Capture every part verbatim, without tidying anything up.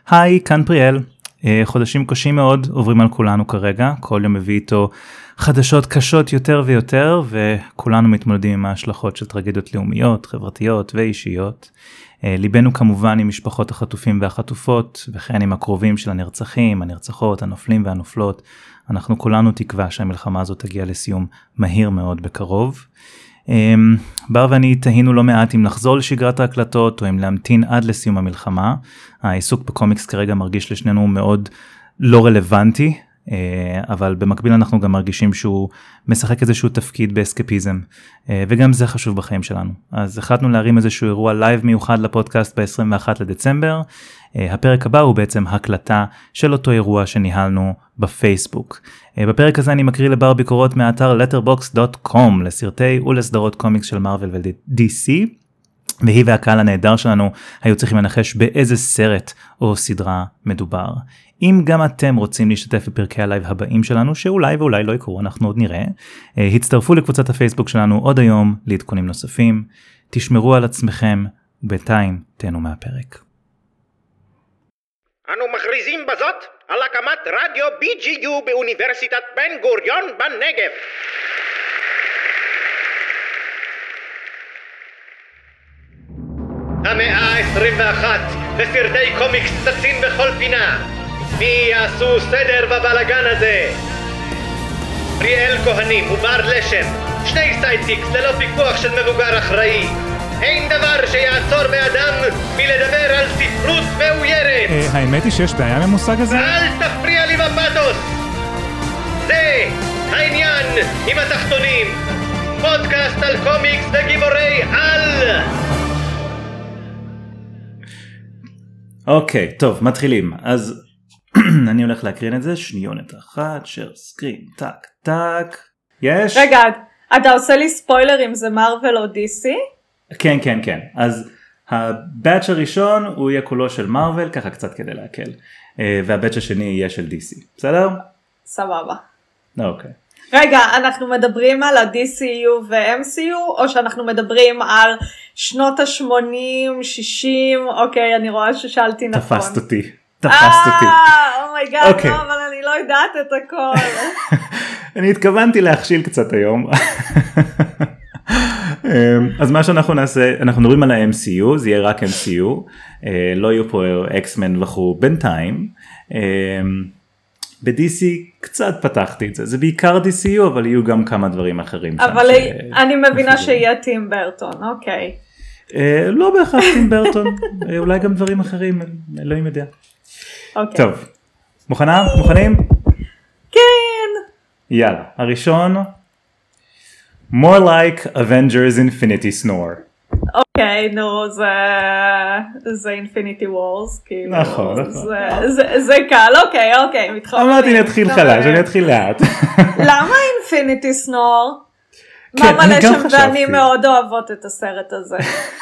היי, כאן פריאל. חודשים קשים מאוד עוברים על כולנו כרגע, כל יום מביא איתו חדשות קשות יותר ויותר, וכולנו מתמודדים עם ההשלכות של טרגדיות לאומיות, חברתיות ואישיות. ליבנו כמובן עם משפחות החטופים והחטופות, וכן עם הקרובים של הנרצחים, הנרצחות, הנופלים והנופלות. אנחנו כולנו תקווה שהמלחמה הזאת תגיע לסיום מהיר מאוד בקרוב. בר ואני תהינו לא מעט אם לחזור לשגרת ההקלטות או אם להמתין עד לסיום המלחמה. העיסוק בקומיקס כרגע מרגיש לשנינו מאוד לא רלוונטי, אבל במקביל אנחנו גם מרגישים שהוא משחק איזשהו תפקיד באסקפיזם, וגם זה חשוב בחיים שלנו. אז החלטנו להרים איזשהו אירוע לייב מיוחד לפודקאסט ב-עשרים ואחד לדצמבר. הפרק הבא הוא בעצם הקלטה של אותו אירוע שניהלנו בפייסבוק. בפרק הזה אני מקריא לבר ביקורות מאתר letterboxd דוט קום לסרטי ולסדרות קומיקס של מארוול ו-די סי, והיא והקהל הנהדר שלנו היו צריכים לנחש באיזה סרט או סדרה מדובר. אם גם אתם רוצים להשתתף בפרקי הלייב הבאים שלנו, שאולי ואולי לא יקרו, אנחנו עוד נראה, הצטרפו לקבוצת הפייסבוק שלנו עוד היום לעדכונים נוספים. תשמרו על עצמכם, ובינתיים תהנו מהפרק. אנו מכריזים בזאת על הקמת רדיו בי ג'י יו באוניברסיטת בן גוריון בנגב. המאה ה-עשרים ואחת וסרטי קומיקס צצים בכל פינה. מי יעשו סדר בבלגן הזה? פריאל כהנים ובר לשם, שני סיידקיקס ללא פיקוח של מבוגר אחראי. אין דבר שיעצור באדם מלדבר על ספרות מאוירת. האמת היא שיש בעיה ממושג הזה? אל תפריע לי בפאתוס. זה העניין עם התחתונים. פודקאסט על קומיקס וגיבורי על. אוקיי, טוב, מתחילים. אז אני הולך להקרין את זה, שניונת אחת, שר סקרין, טק, טק. יש? רגע, אתה עושה לי ספוילר אם זה מארוול או די סי? כן, כן, כן. אז הבאץ' הראשון הוא יהיה כולו של מארוול, ככה קצת כדי להקל. והבאץ' השני יהיה של די סי. בסדר? סבבה. אוקיי. רגע, אנחנו מדברים על ה-די סי יו ו-אם סי יו, או שאנחנו מדברים על שנות ה-שמונים, שישים, אוקיי, אני רואה ששאלתי נכון. תפסת אותי, תפסת אותי. אה, אומייגאד, לא, אבל אני לא יודעת את הכל. אני התכוונתי להכשיל קצת היום. אז מה שאנחנו נעשה, אנחנו מדברים על ה-אם סי יו, זה יהיה רק אם סי יו, לא יהיו פה אקסמן וכו' בינתיים. ב-די סי קצת פתחתי את זה, זה בעיקר די סי יו, אבל יהיו גם כמה דברים אחרים. אבל אני מבינה שיהיה טים ברטון, אוקיי. לא בהכרח טים ברטון, אולי גם דברים אחרים, אלוהים יודע. טוב, מוכנה? מוכנים? כן. יאללה, הראשון, More like Avengers Infinity Snore. אוקיי, נו, זה זה Infinity Wars, כאילו. נכון, נכון. זה קל, אוקיי, אוקיי, מתחברים. אמרתי אני אתחיל חלש, אני אתחיל לאט. למה Infinity Snore? מה מלא שם ואני מאוד אוהבות את הסרט הזה.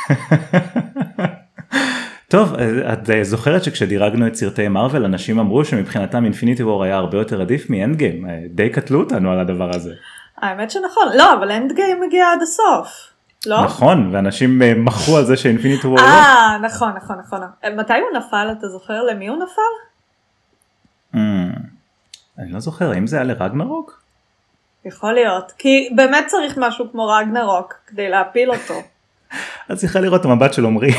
טוב, את זוכרת שכשדירגנו את סרטי מארוול, אנשים אמרו שמבחינתם Infinity War היה הרבה יותר עדיף מ-End Game, די קטלו אותנו על הדבר הזה. האמת שנכון, לא, אבל End Game מגיע עד הסוף, לא? נכון, ואנשים מחרו על זה ש-Infinity War לא. אה, נכון, נכון, נכון. מתי הוא נפל, אתה זוכר למי הוא נפל? אני לא זוכר, האם זה היה לרגנרוק? יכול להיות, כי באמת צריך משהו כמו רגנרוק, כדי להפיל אותו. את צריכה לראות את המבט של עומרי.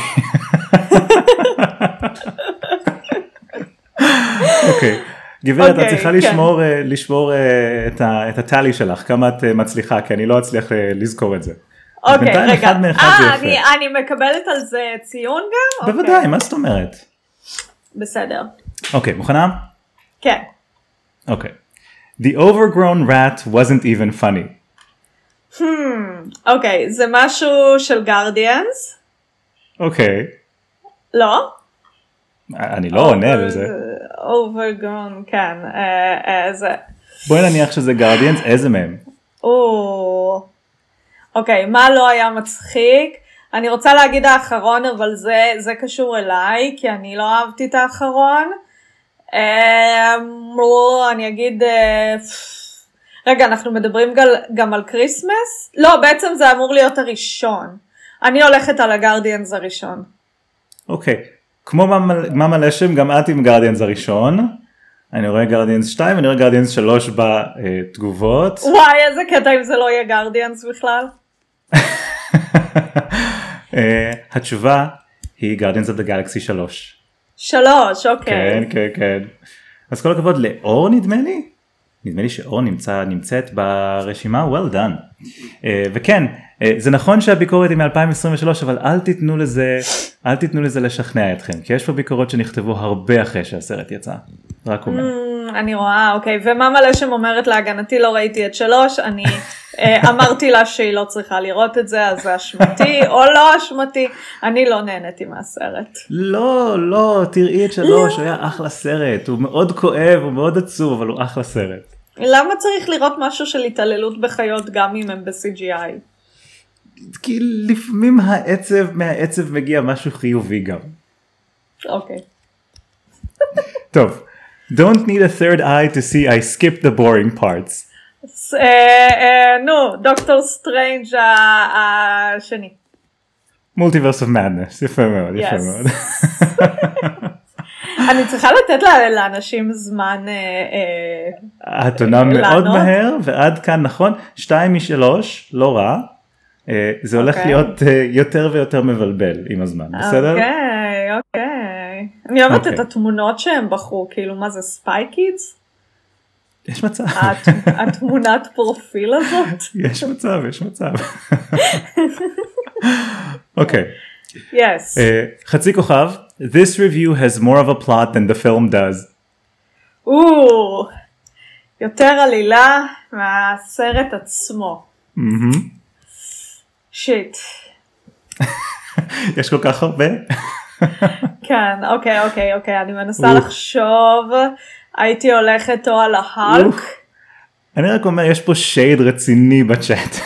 אוקיי. גברת, את צריכה לשמור, לשמור את הטלי שלך, כמה את מצליחה, כי אני לא אצליח לזכור את זה. אוקיי, רגע. אה, אני מקבלת על זה ציון גם? בוודאי, מה זאת אומרת? בסדר. אוקיי, מוכנה? כן. אוקיי. The overgrown rat wasn't even funny. Hmm, אוקיי, זה משהו של גארדיאנס? אוקיי. לא? אני לא עונה לזה. overgrown, כן. זה... בואי נניח שזה גארדיאנס, איזה מהם? אוקיי, מה לא היה מצחיק? אני רוצה להגיד האחרון, אבל זה, זה קשור אליי, כי אני לא אהבתי את האחרון. אני אגיד... רגע, אנחנו מדברים גם על קריסמס? לא, בעצם זה אמור להיות הראשון. אני הולכת על הגארדיאנס הראשון. אוקיי. כמו מאמה לשם, גם את עם גרדיאנס הראשון. אני רואה גרדיאנס שתיים, אני רואה גרדיאנס שלוש בתגובות. וואי, איזה קטע אם זה לא יהיה גרדיאנס בכלל. התשובה היא גרדיאנס אוף דה גלקסי שלוש. שלוש, אוקיי. כן, כן, כן. אז כל הכבוד לאור נדמה לי. נדמה לי שאור נמצא, נמצאת ברשימה, well done. Uh, וכן, uh, זה נכון שהביקורת היא מ-אלפיים עשרים ושלוש, אבל אל תיתנו לזה, אל תיתנו לזה לשכנע אתכם, כי יש פה ביקורות שנכתבו הרבה אחרי שהסרט יצא. רק אומר. Mm, אני רואה, אוקיי, ומאמה לשם אומרת להגנתי לא ראיתי את שלוש, אני uh, אמרתי לה שהיא לא צריכה לראות את זה, אז זה אשמתי או לא אשמתי, אני לא נהניתי מהסרט. לא, לא, תראי את שלוש, הוא היה אחלה סרט, הוא מאוד כואב, הוא מאוד עצוב, אבל הוא אחלה סרט. למה צריך לראות משהו של התעללות בחיות גם אם הם ב-סי ג'י איי? כי לפעמים העצב, מהעצב מגיע משהו חיובי גם. אוקיי. טוב, don't need a third eye to see I skipped the boring parts. נו, דוקטור סטרנג' השני. Multiverse of Madness, יפה מאוד, יפה מאוד. אני צריכה לתת לאנשים זמן את עונה מאוד מהר, ועד כאן נכון, שתיים משלוש, לא רע, זה הולך להיות יותר ויותר מבלבל עם הזמן, בסדר? אוקיי, אוקיי. אני אוהבת את התמונות שהם בחרו, כאילו מה זה, ספיי קידס? יש מצב. התמונת פרופיל הזאת? יש מצב, יש מצב. אוקיי. Yes. חצי כוכב, this review has more of a plot than the film does. או, יותר עלילה מהסרט עצמו. שיט. יש כל כך הרבה? כן, אוקיי, אוקיי, אוקיי, אני מנסה לחשוב, הייתי הולכת או על ההלק. אני רק אומר, יש פה שייד רציני בצ'אט.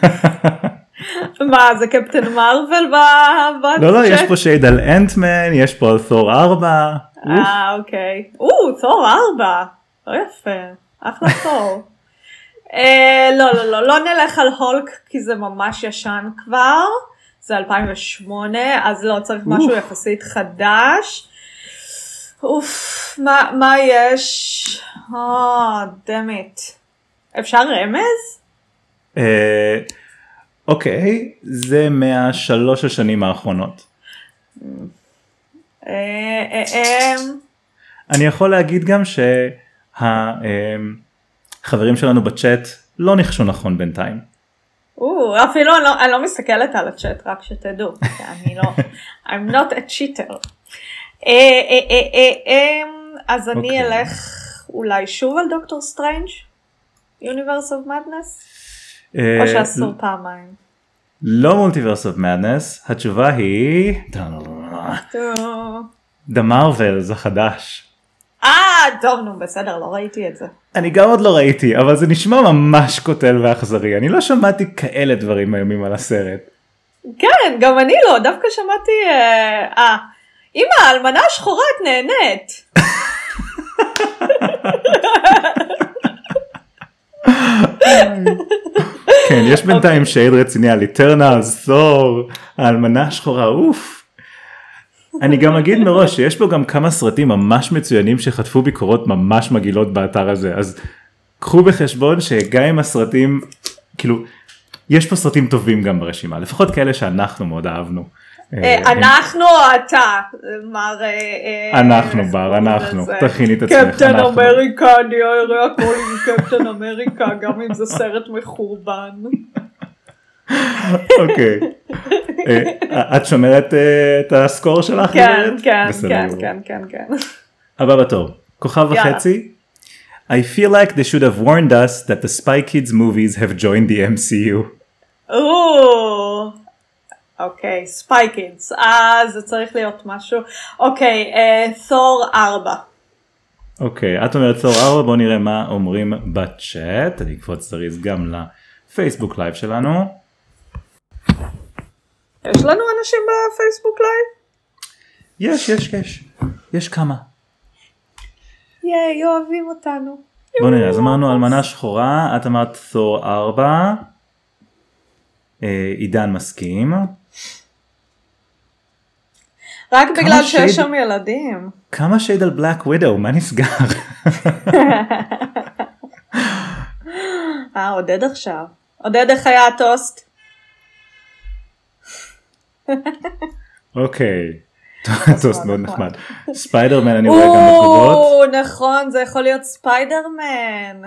מה, זה קפטן מרוול בצ'אט? לא, לא, יש פה שייד על אנטמן, יש פה על תור ארבע. אה, אוקיי. או, תור ארבע. לא יפה. אחלה תור. לא, לא, לא, לא נלך על הולק, כי זה ממש ישן כבר. זה אלפיים ושמונה, אז לא צריך משהו יחסית חדש. אוף, מה יש? אה, דמית. אפשר רמז? אה... אוקיי, זה מהשלוש השנים האחרונות. אני יכול להגיד גם שהחברים שלנו בצ'אט לא נחשו נכון בינתיים. אפילו אני לא מסתכלת על הצ'אט, רק שתדעו. אני לא, I'm not a cheater. אז אני אלך אולי שוב על דוקטור סטרנג' Universe of Madness? או שאסור פעמיים. לא מולטיברס אוף מדנס, התשובה היא The Marvels החדש. אה, טוב, נו, בסדר, לא ראיתי את זה. אני גם עוד לא ראיתי, אבל זה נשמע ממש קוטל ואכזרי. אני לא שמעתי כאלה דברים הימים על הסרט. כן, גם אני לא, דווקא שמעתי, אה, אמא, האלמנה השחורה את נהנית. כן, יש בינתיים שייד רציני על איטרנלס, תור, האלמנה השחורה, אוף. אני גם אגיד מראש שיש פה גם כמה סרטים ממש מצוינים שחטפו ביקורות ממש מגעילות באתר הזה, אז קחו בחשבון שגם עם הסרטים, כאילו, יש פה סרטים טובים גם ברשימה, לפחות כאלה שאנחנו מאוד אהבנו. אנחנו או אתה, מר... אנחנו בר, אנחנו, תכיני את עצמך, קפטן אמריקה, אני אראה הכל עם קפטן אמריקה, גם אם זה סרט מחורבן. אוקיי. את שומרת את הסקור שלך? כן, כן, כן, כן, כן, כן. הבא בתור, כוכב וחצי. I feel like they should have warned us that the Spy Kids movies have joined the M C U. או, אוקיי, ספיי קידס, אז זה צריך להיות משהו. אוקיי, תור ארבע. אוקיי, את אומרת תור ארבע, בואו נראה מה אומרים בצ'אט. אני אקפוץ זריז גם לפייסבוק לייב שלנו. יש לנו אנשים בפייסבוק לייב? יש, יש, יש. יש כמה. ייי, אוהבים אותנו. בואו נראה, אז אמרנו אלמנה שחורה, את אמרת תור ארבע. עידן מסכים. רק בגלל שייד... שיש שם ילדים. כמה שייד על בלק ווידו, מה נסגר? אה, עודד עכשיו. עודד, איך היה הטוסט? אוקיי. טוסט מאוד נחמד. ספיידרמן אני רואה גם בתגובות. או, נכון, זה יכול להיות ספיידרמן.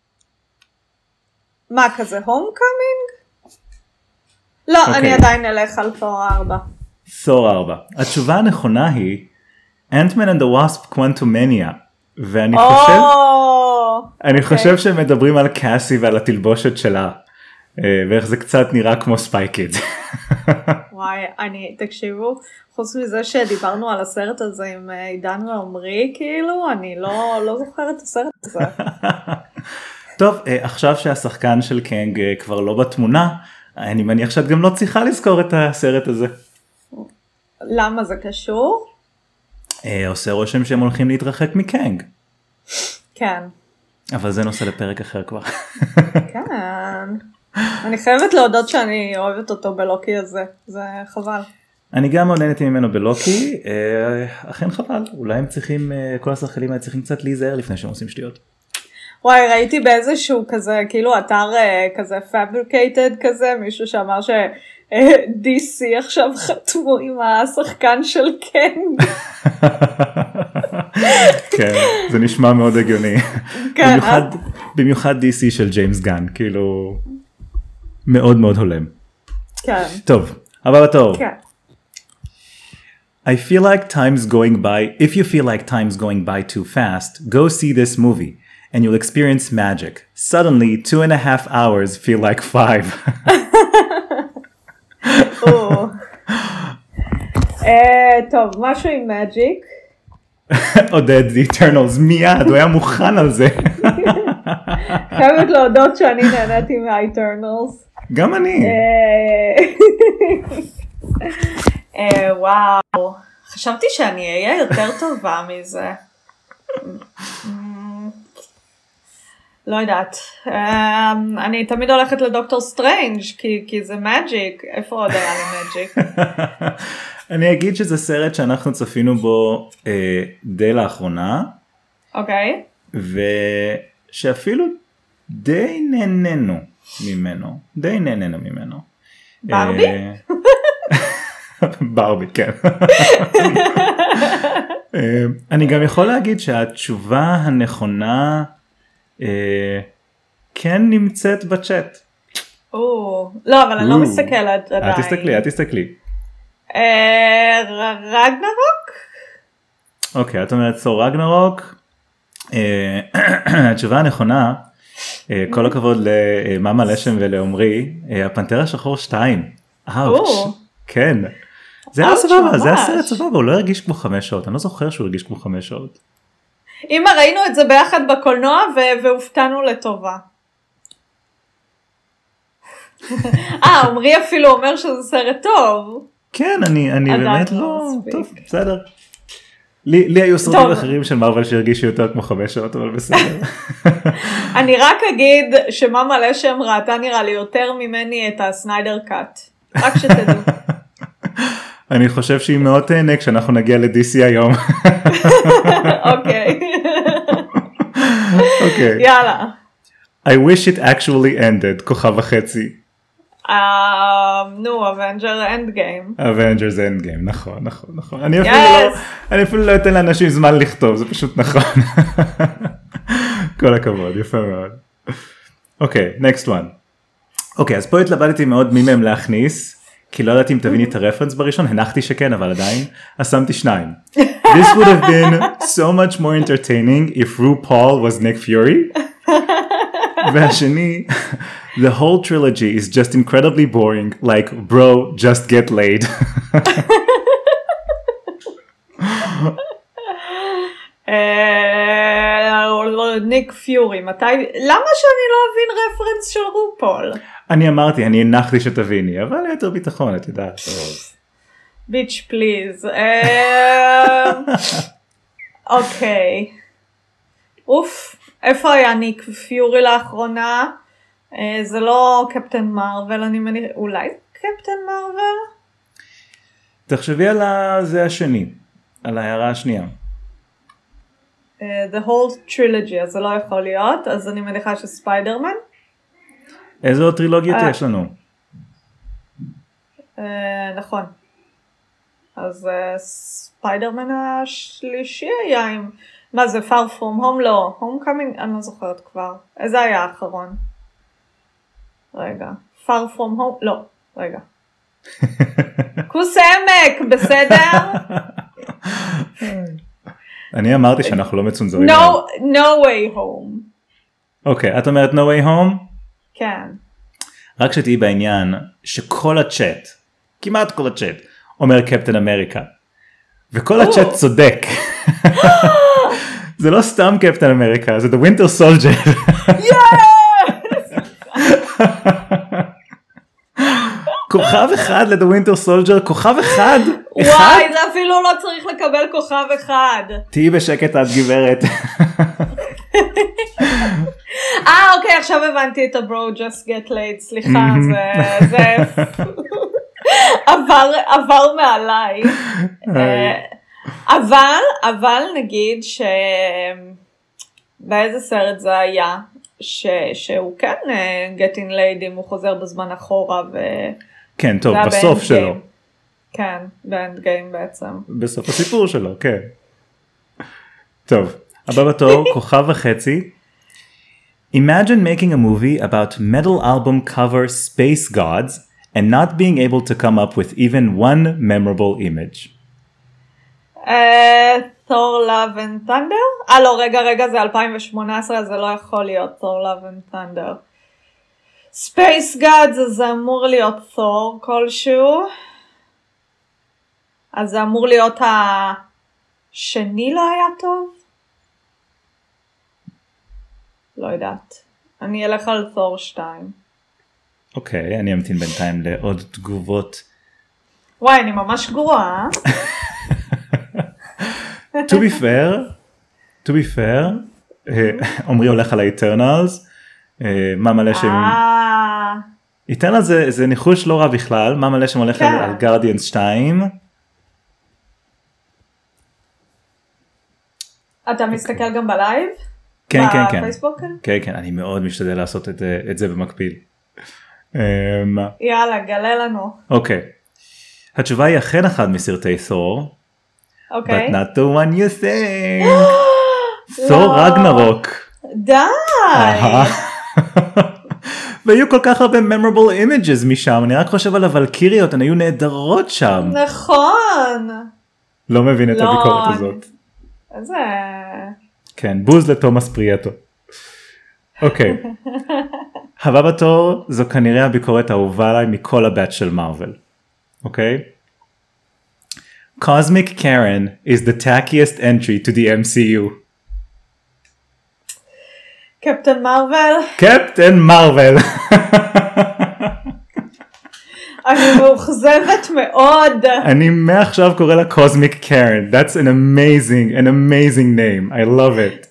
מה כזה, הום קאמינג? לא, אני עדיין אלך על תור ארבע. תור ארבע. התשובה הנכונה היא Ant-Man and the Wasp Quantumania. ואני חושב, אני חושב שהם מדברים על קאסי ועל התלבושת שלה. ואיך זה קצת נראה כמו ספייקיד. וואי, אני, תקשיבו, חוץ מזה שדיברנו על הסרט הזה עם עידן ועומרי, כאילו, אני לא, לא זוכרת את הסרט הזה. טוב, עכשיו שהשחקן של קנג כבר לא בתמונה, אני מניח שאת גם לא צריכה לזכור את הסרט הזה. למה זה קשור? עושה רושם שהם הולכים להתרחק מקנג. כן. אבל זה נושא לפרק אחר כבר. כן. אני חייבת להודות שאני אוהבת אותו בלוקי הזה, זה חבל. אני גם מעוניינת ממנו בלוקי, אכן חבל, אולי הם צריכים, כל השחקנים האלה צריכים קצת להיזהר לפני שהם עושים שטויות. וואי, ראיתי באיזשהו כזה, כאילו אתר כזה fabricated כזה, מישהו שאמר ש-די סי עכשיו חתמו עם השחקן של קנג. כן, זה נשמע מאוד הגיוני. במיוחד, במיוחד די סי של ג'יימס גן, כאילו מאוד מאוד הולם. כן. טוב, הבא בתור. כן. I feel like time's going by, if you feel like time's going by too fast, go see this movie. And you'll experience magic. Suddenly, two and a half hours feel like five. טוב, משהו עם magic. עודד, The Eternals, מיד, הוא היה מוכן על זה. חייבת להודות שאני נהניתי מה-Eternals. גם אני. וואו, חשבתי שאני אהיה יותר טובה מזה. לא יודעת, אני תמיד הולכת לדוקטור סטרנג' כי, כי זה מג'יק, איפה עוד היה לי מג'יק? אני אגיד שזה סרט שאנחנו צפינו בו אה, די לאחרונה. אוקיי. ושאפילו די נהננו ממנו, די נהננו ממנו. ברבי? אה, ברבי, כן. אה, אני גם יכול להגיד שהתשובה הנכונה, כן נמצאת בצ'אט. או, לא, אבל אני לא מסתכלת עדיין. את תסתכלי, את תסתכלי. רגנרוק? אוקיי, את אומרת סור רגנרוק. התשובה הנכונה, כל הכבוד למאמה לשם ולעומרי, הפנתר השחור שתיים. אאוץ'. כן. זה היה סבבה, זה היה סרט סבבה, הוא לא הרגיש כמו חמש שעות, אני לא זוכר שהוא הרגיש כמו חמש שעות. אמא, ראינו את זה ביחד בקולנוע והופתענו לטובה. אה, עומרי אפילו אומר שזה סרט טוב. כן, אני, אני באמת לא, טוב, בסדר. לי, לי היו סרטים אחרים של מרוול שהרגישו יותר כמו חמש שעות, אבל בסדר. אני רק אגיד שמאמה לשם ראתה נראה לי יותר ממני את הסניידר קאט. רק שתדעו. אני חושב שהיא מאוד תהנה כשאנחנו נגיע ל-די סי היום. אוקיי. אוקיי. יאללה. I wish it actually ended, כוכב וחצי. נו, Avenger Endgame. Avengers Endgame, נכון, נכון, נכון. אני אפילו לא, אני אפילו לא אתן לאנשים זמן לכתוב, זה פשוט נכון. כל הכבוד, יפה מאוד. אוקיי, next one. אוקיי, אז פה התלבטתי מאוד מי מהם להכניס. כי לא ידעתי אם תביני את הרפרנס בראשון, הנחתי שכן, אבל עדיין, אז שמתי שניים. This would have been so much more entertaining if RuPaul was Nick Fury. והשני, the whole trilogy is just incredibly boring, like, bro, just get laid. ניק פיורי, מתי, למה שאני לא אבין רפרנס של רופול? אני אמרתי, אני הנחתי שתביני, אבל יותר ביטחון, את יודעת. ביץ' פליז. אוקיי. אוף, איפה היה ניק פיורי לאחרונה? זה לא קפטן מרוול, אני מניח, אולי קפטן מרוול? תחשבי על זה השני, על ההערה השנייה. Uh, the whole trilogy, אז זה לא יכול להיות, אז אני מניחה שספיידרמן. איזה עוד טרילוגיות uh, יש לנו? Uh, נכון. אז uh, ספיידרמן השלישי היה עם, מה זה, far from home? לא, homecoming, אני לא זוכרת כבר. איזה היה האחרון? רגע, far from home, לא, רגע. כוס עמק, בסדר? אני אמרתי שאנחנו לא מצונזרים. No, no way home. אוקיי, את אומרת no way home? כן. רק שתהי בעניין שכל הצ'אט, כמעט כל הצ'אט, אומר קפטן אמריקה. וכל הצ'אט צודק. זה לא סתם קפטן אמריקה, זה The Winter Soldier. כוכב אחד ל-The Winter Soldier, כוכב אחד. וואי, זה אפילו לא צריך לקבל כוכב אחד. תהי בשקט את גברת. אה, אוקיי, עכשיו הבנתי את ה-bro just get late, סליחה, זה עבר, עבר מעליי. אבל, אבל נגיד ש... באיזה סרט זה היה, ש... שהוא כן getting late אם הוא חוזר בזמן אחורה ו... כן, טוב, בסוף שלו. כן, באנד גיים בעצם. בסוף הסיפור שלו, כן. טוב, הבא בתור, כוכב וחצי. Imagine making a movie about metal album cover space gods and not being able to come up with even one memorable image. Thor Love and Thunder? אה לא, רגע, רגע, זה אלפיים שמונה עשרה, אז זה לא יכול להיות Thor Love and Thunder. Space Gods, זה אמור להיות Thor כלשהו. אז זה אמור להיות השני לא היה טוב? לא יודעת. אני אלך על Thor שתיים. אוקיי, אני אמתין בינתיים לעוד תגובות. וואי, אני ממש גרועה. To be fair, to be fair, עומרי הולך על ה-Eternals, מה מלא שם... Eternals זה ניחוש לא רע בכלל, מה מלא שם הולך על Guardians שתיים. אתה מסתכל גם בלייב? כן, כן, כן. בפייסבוק? כן, כן, אני מאוד משתדל לעשות את זה במקביל. יאללה, גלה לנו. אוקיי. התשובה היא אכן אחד מסרטי תור. אוקיי. But not the one you think. תור רגנרוק. די. והיו כל כך הרבה memorable images משם, אני רק חושב על הוולקיריות, הן היו נהדרות שם. נכון. לא מבין את הביקורת הזאת. איזה... כן, בוז לתומאס פריאטו. אוקיי. הבא בתור זו כנראה הביקורת האהובה עליי מכל הבט של מארוול. אוקיי? Cosmic Karen is the tackiest entry to the M C U. קפטן מרוול. קפטן מרוול. אני מאוכזבת מאוד. אני מעכשיו קורא לה Cosmic Karen. That's an amazing, an amazing name. I love it.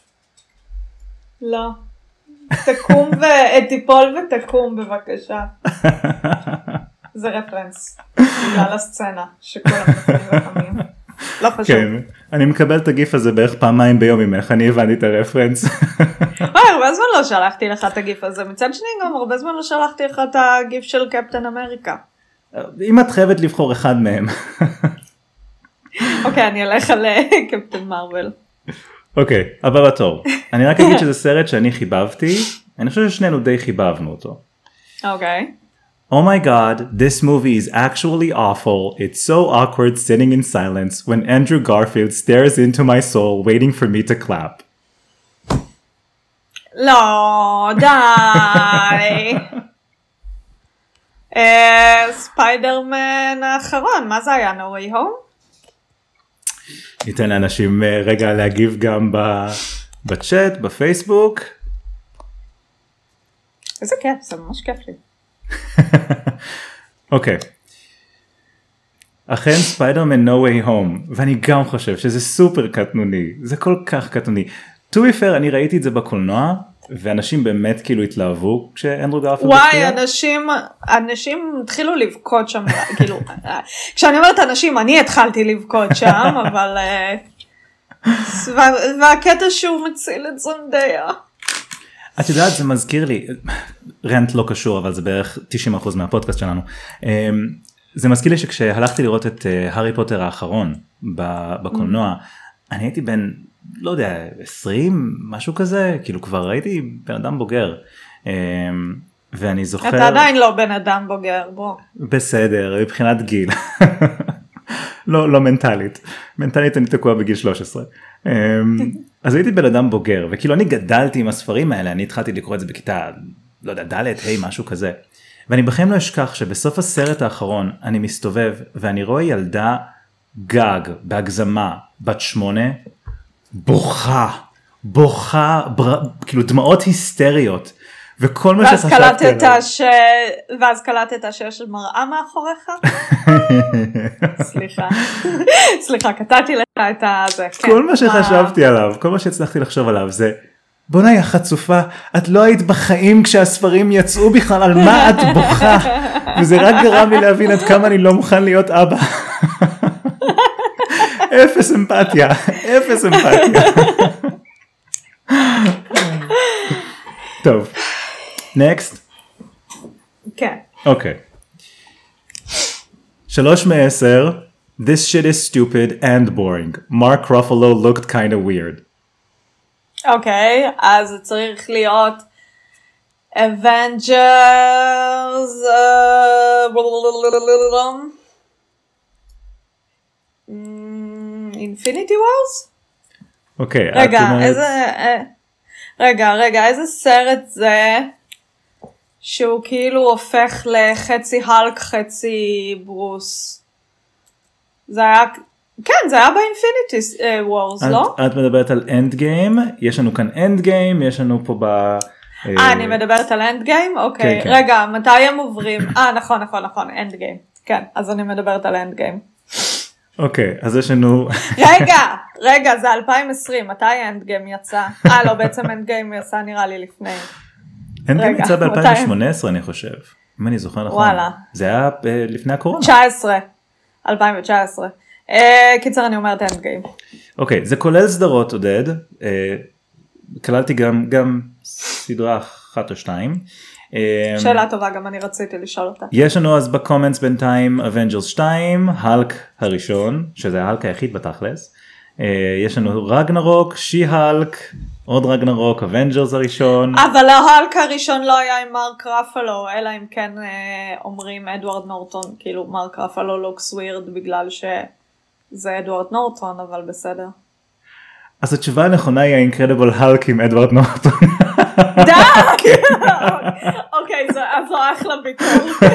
לא. תקום ותיפול ותקום בבקשה. זה רפרנס. בגלל הסצנה שכולם נפלים וחמים. לא חשוב. כן, אני מקבל את הגיף הזה בערך פעמיים ביום ממך, אני הבנתי את הרפרנס. וואי, הרבה זמן לא שלחתי לך את הגיף הזה, מצד שני גם הרבה זמן לא שלחתי לך את הגיף של קפטן אמריקה. אם את חייבת לבחור אחד מהם. אוקיי, אני אלך על קפטן מרוול. אוקיי, הבא בתור. אני רק אגיד שזה סרט שאני חיבבתי, אני חושב ששנינו די חיבבנו אותו. אוקיי. Oh my god, this movie is actually awful. It's so awkward sitting in silence when Andrew Garfield stares into my soul waiting for me to clap. לא, די. ספיידרמן האחרון, מה זה היה? No Way Home? ניתן לאנשים רגע להגיב גם בצ'אט, בפייסבוק. איזה כיף, זה ממש כיף לי. אוקיי. אכן ספיידרמן No Way Home, ואני גם חושב שזה סופר קטנוני, זה כל כך קטנוני. To be fair, אני ראיתי את זה בקולנוע, ואנשים באמת כאילו התלהבו כשאנדרו גרפילד וואי, הופיע? אנשים, אנשים התחילו לבכות שם, כאילו, כשאני אומרת אנשים, אני התחלתי לבכות שם, אבל, והקטע שהוא מציל את זנדיה. את יודעת, זה מזכיר לי, רנט לא קשור, אבל זה בערך תשעים אחוז מהפודקאסט שלנו. זה מזכיר לי שכשהלכתי לראות את הארי פוטר האחרון בקולנוע, אני הייתי בן, לא יודע, עשרים, משהו כזה, כאילו כבר הייתי בן אדם בוגר. ואני זוכר... אתה עדיין לא בן אדם בוגר, בוא. בסדר, מבחינת גיל. לא, לא מנטלית. מנטלית אני תקוע בגיל שלוש עשרה. אז הייתי בן אדם בוגר, וכאילו אני גדלתי עם הספרים האלה, אני התחלתי לקרוא את זה בכיתה, לא יודע, ד' היי, משהו כזה. ואני בכם לא אשכח שבסוף הסרט האחרון אני מסתובב, ואני רואה ילדה גג, בהגזמה, בת שמונה, בוכה, בוכה, בר... כאילו דמעות היסטריות. וכל מה שחשבתי עליו. ש... ואז קלטת שיש מראה מאחוריך? סליחה. סליחה, קטעתי לך את זה. כל מה שחשבתי עליו, כל מה שהצלחתי לחשוב עליו זה, בונה יא חצופה, את לא היית בחיים כשהספרים יצאו בכלל, על מה את בוכה? וזה רק גרם לי להבין עד כמה אני לא מוכן להיות אבא. אפס אמפתיה, אפס אמפתיה. טוב. Next. כן. אוקיי. שלוש מעשר. This shit is stupid and boring. Mark Ruffalo looked kind of weird. אוקיי, אז זה צריך להיות Avengers Infinity Wars? אוקיי. רגע, איזה... רגע, רגע, איזה סרט זה שהוא כאילו הופך לחצי הלק, חצי ברוס? זה היה, כן, זה היה באינפיניטי וורס, לא? את מדברת על אנד גיים, יש לנו כאן אנד גיים, יש לנו פה ב... אה, אני מדברת על אנד גיים? אוקיי, רגע, מתי הם עוברים? אה, נכון, נכון, נכון, אנד גיים. כן, אז אני מדברת על אנד גיים. אוקיי, אז יש לנו... רגע, רגע, זה אלפיים ועשרים, מתי אנד גיים יצא? אה, לא, בעצם אנד גיים יצא נראה לי לפני. אנד גיים יצא ב-אלפיים ושמונה עשרה, אני חושב. אם אני זוכר נכון. וואלה. זה היה לפני הקורונה. תשע עשרה, אלפיים ותשע עשרה. קיצר, אני אומרת אנד גיים. אוקיי, זה כולל סדרות, עודד. כללתי גם סדרה אחת או שתיים. שאלה טובה, גם אני רציתי לשאול אותה. יש לנו אז בקומנטס בינתיים אבנג'רס שתיים, הלק הראשון, שזה ההלק היחיד בתכלס. יש לנו רגנרוק, שי הלק, עוד רגנרוק, אבנג'רס הראשון. אבל ההלק הראשון לא היה עם מרק רפלו, אלא אם כן אומרים אדוארד נורטון, כאילו מרק רפלו לוקס ווירד בגלל שזה אדוארד נורטון, אבל בסדר. אז התשובה הנכונה היא האינקרדיבל הלק עם אדוארד נורטון. דק! אוקיי, זו אחלה ביקורת.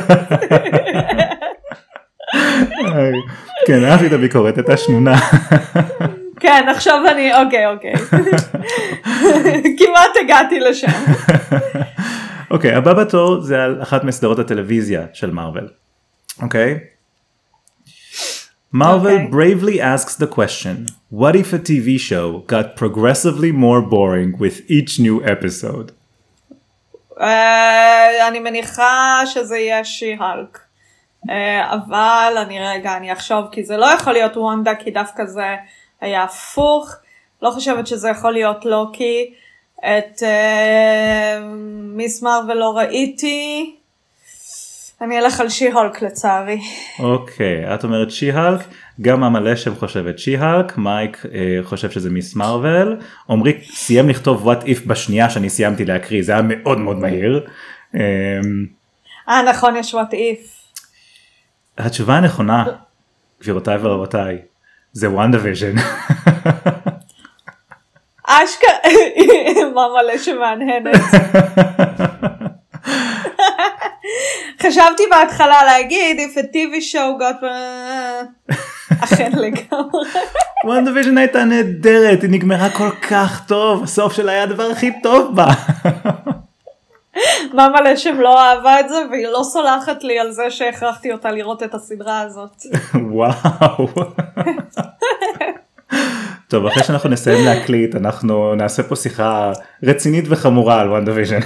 כן, אהבתי את הביקורת, הייתה שנונה. כן, עכשיו אני, אוקיי, אוקיי. כמעט הגעתי לשם. אוקיי, הבא בתור זה על אחת מסדרות הטלוויזיה של מארוול. אוקיי? Marvel bravely asks the question, what if a T V show got progressively more boring with each new episode? אני מניחה שזה יהיה שי-הלק. אבל אני רגע, אני אחשוב, כי זה לא יכול להיות וונדה, כי דווקא זה היה הפוך. לא חושבת שזה יכול להיות לוקי. את מיס מארוול לא ראיתי. אני אלך על שי-הולק לצערי. אוקיי, את אומרת שי-הולק, גם המלא שם חושבת שי-הולק, מייק אה, חושב שזה מיס מארוול, עומרי סיים לכתוב what if בשנייה שאני סיימתי להקריא, זה היה מאוד מאוד מהיר. אה נכון, יש what if. התשובה הנכונה, גבירותיי ורבותיי, זה WandaVision. אשכרה, מה מלא שמענהנת. חשבתי בהתחלה להגיד if a טי וי show got אכן לגמרי. WandaVision הייתה נהדרת, היא נגמרה כל כך טוב, הסוף שלה היה הדבר הכי טוב בה. מה מלא שם לא אהבה את זה והיא לא סולחת לי על זה שהכרחתי אותה לראות את הסדרה הזאת. וואו. טוב, אחרי שאנחנו נסיים להקליט, אנחנו נעשה פה שיחה רצינית וחמורה על וואנדוויז'ן.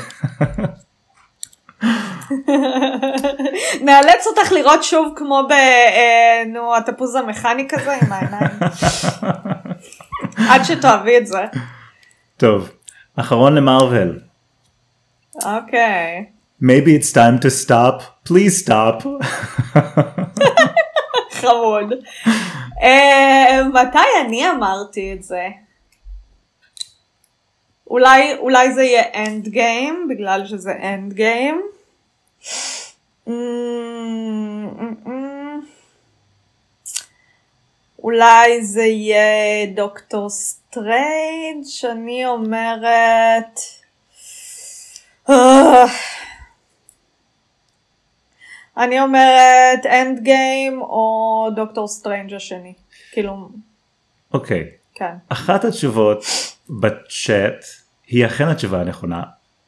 נאלץ אותך לראות שוב כמו ב... נו, התפוז המכני כזה עם העיניים. עד שתאהבי את זה. טוב, אחרון למרוול. אוקיי. Maybe it's time to stop. Please stop. חמוד. מתי אני אמרתי את זה? אולי, אולי זה יהיה אנד גיים, בגלל שזה אנד גיים. אולי זה יהיה דוקטור סטרייג', שאני אומרת... אני אומרת אנד גיים או דוקטור סטרנג' השני. כאילו... אוקיי. כן. אחת התשובות בצ'אט היא אכן התשובה הנכונה.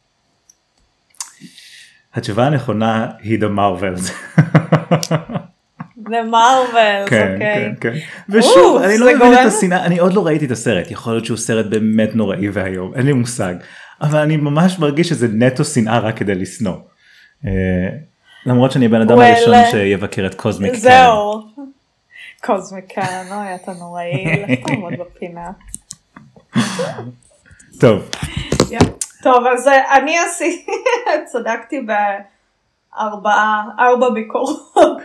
התשובה הנכונה היא The Marvels. The Marvels, כן, אוקיי. כן, כן. ושוב, אני לא מבין את השנאה, אני עוד לא ראיתי את הסרט, יכול להיות שהוא סרט באמת נוראי והיום, אין לי מושג. אבל אני ממש מרגיש שזה נטו שנאה רק כדי לשנוא. למרות שאני בן אדם הראשון שיבקר את קוזמיק קאן. זהו. קוזמיק קאן, אוי, אתה נוראי, לך תעמוד בפינה. טוב. טוב, אז אני עשיתי, צדקתי בארבעה, ארבע ביקורות.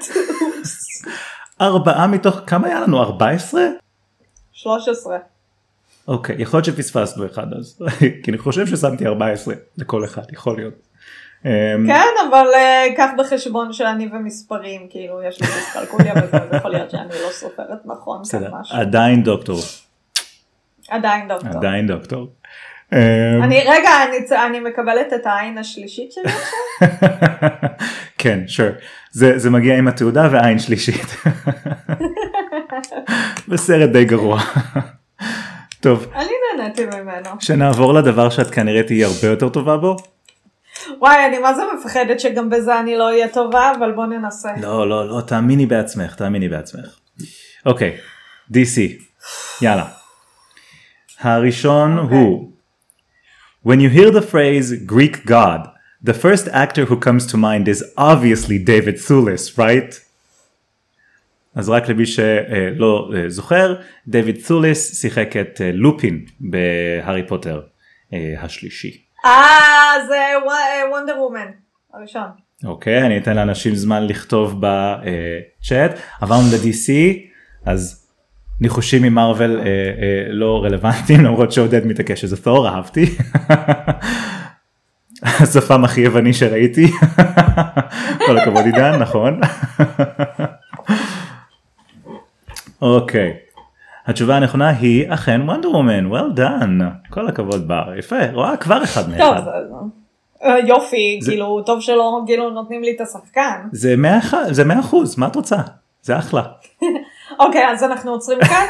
ארבעה מתוך, כמה היה לנו? ארבע עשרה? שלוש עשרה. אוקיי, יכול להיות שפספסנו אחד אז, כי אני חושב ששמתי ארבע עשרה לכל אחד, יכול להיות. כן, אבל קח בחשבון שאני ומספרים, כאילו יש לי דיסקלקוליה וזה, אז יכול להיות שאני לא סופרת נכון. עדיין דוקטור. עדיין דוקטור. עדיין דוקטור. אני, רגע, אני מקבלת את העין השלישית שלי עכשיו? כן, sure. זה מגיע עם התעודה והעין שלישית. בסרט די גרוע. טוב. אני נהניתי ממנו. שנעבור לדבר שאת כנראה תהיה הרבה יותר טובה בו. וואי, אני מה זה מפחדת שגם בזה אני לא אהיה טובה, אבל בוא ננסה. לא, לא, לא, תאמיני בעצמך, תאמיני בעצמך. אוקיי, די סי, יאללה. הראשון הוא, When you hear the phrase Greek god, the first actor who comes to mind is obviously David Thewlis, right? אז רק למי שלא זוכר, דיוויד ת'וליס שיחק את לופין בהארי פוטר השלישי. אה, זה וונדר וומן, הראשון. אוקיי, אני אתן לאנשים זמן לכתוב בצ'אט. עברנו ל-די סי, אז ניחושים ממרוול לא רלוונטיים, למרות שעודד מתעקש שזה תור, אהבתי. השפם הכי יווני שראיתי. כל הכבוד עידן, נכון? אוקיי. התשובה הנכונה היא אכן וונדר וומן, well done, כל הכבוד בר, יפה, רואה כבר אחד מאחד. טוב, יופי, כאילו טוב שלא כאילו נותנים לי את השחקן. זה מאה אחוז, מה את רוצה? זה אחלה. אוקיי, אז אנחנו עוצרים כאן.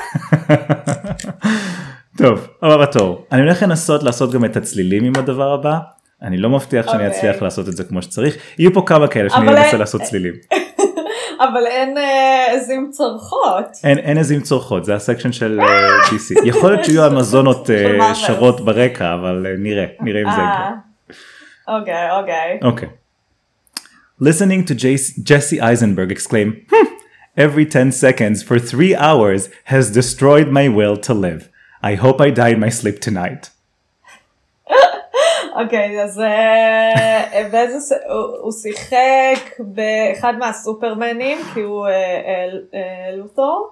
טוב, הבא בתור, אני הולך לנסות לעשות גם את הצלילים עם הדבר הבא, אני לא מבטיח שאני אצליח לעשות את זה כמו שצריך, יהיו פה כמה כאלה שאני אנסה לעשות צלילים. אבל אין עזים צורכות. אין, אין עזים צורכות, זה הסקשן של די סי. יכול להיות שיהיו המזונות שרות ברקע, אבל נראה, נראה אם זה יקרה. אוקיי, אוקיי. אוקיי. Listening to Jesse Eisenberg exclaim, hmm, every ten seconds for three hours has destroyed my will to live. I hope I die in my sleep tonight. אוקיי, אז באיזה, הוא שיחק באחד מהסופרמנים, כי הוא לות'ור,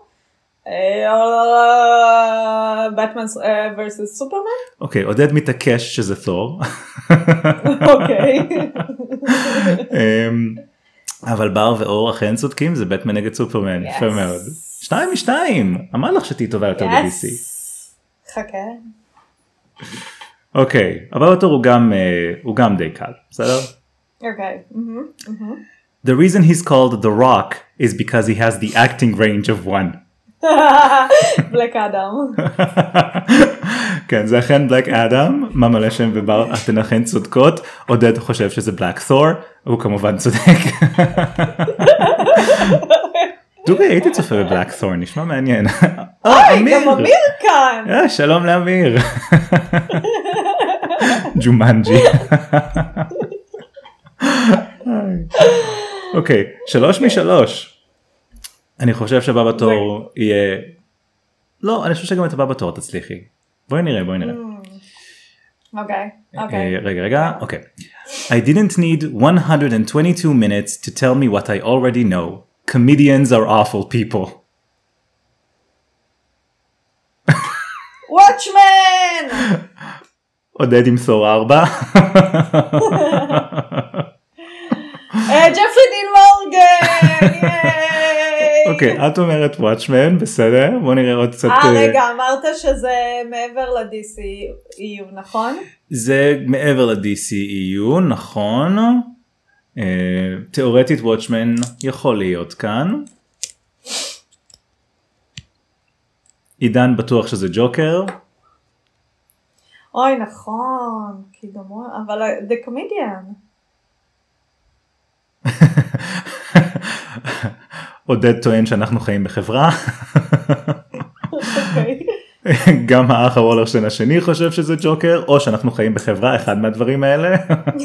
בטמן versus סופרמן. אוקיי, עודד מתעקש שזה תור. אוקיי. אבל בר ואור אכן צודקים, זה בטמן נגד סופרמן, יפה מאוד. שתיים משתיים, אמר לך שתהי טובה יותר ב-די סי. חכה. אוקיי, אבל אותו הוא גם, הוא גם די קל, בסדר? אוקיי. The reason he's called The Rock is because he has the acting range of one. בלק אדם. כן, זה אכן בלק אדם, מה מלא שם ובר, אתן אכן צודקות, עודד חושב שזה בלק תור, הוא כמובן צודק. דוגרי, הייתי צופה בבלקת'ורן, נשמע מעניין. אוי, גם אמיר כאן. שלום לאמיר. ג'ומנג'י. אוקיי, שלוש משלוש. אני חושב שבא בתור יהיה... לא, אני חושב שגם את הבא בתור תצליחי. בואי נראה, בואי נראה. אוקיי, אוקיי. רגע, רגע, אוקיי. I didn't need one hundred twenty-two minutes to tell me what I already know. Comedians are awful people. Watchmen! עודד עם סור ארבע. ג'פרי דין מורגן! אוקיי, את אומרת Watchmen, בסדר? בוא נראה עוד קצת... אה, רגע, אמרת שזה מעבר ל-די סי אי יו, נכון? זה מעבר ל-די סי אי יו, נכון. תיאורטית Watchmen יכול להיות כאן. עידן בטוח שזה ג'וקר. אוי, נכון, כי גם הוא, אבל The Comedian. עודד טוען שאנחנו חיים בחברה. אוקיי. גם האח הוולרשטיין השני חושב שזה ג'וקר, או שאנחנו חיים בחברה, אחד מהדברים האלה.